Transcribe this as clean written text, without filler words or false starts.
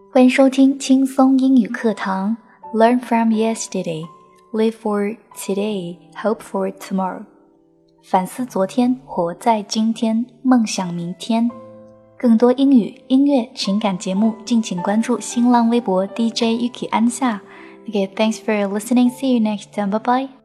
欢迎收听轻松英语课堂 Learn from yesterday, live for today, hope for tomorrow 反思昨天，活在今天，梦想明天。更多英语、音乐、情感节目敬请关注新浪微博 DJ Yuki 安夏。Okay, thanks for listening. See you next time. Bye bye.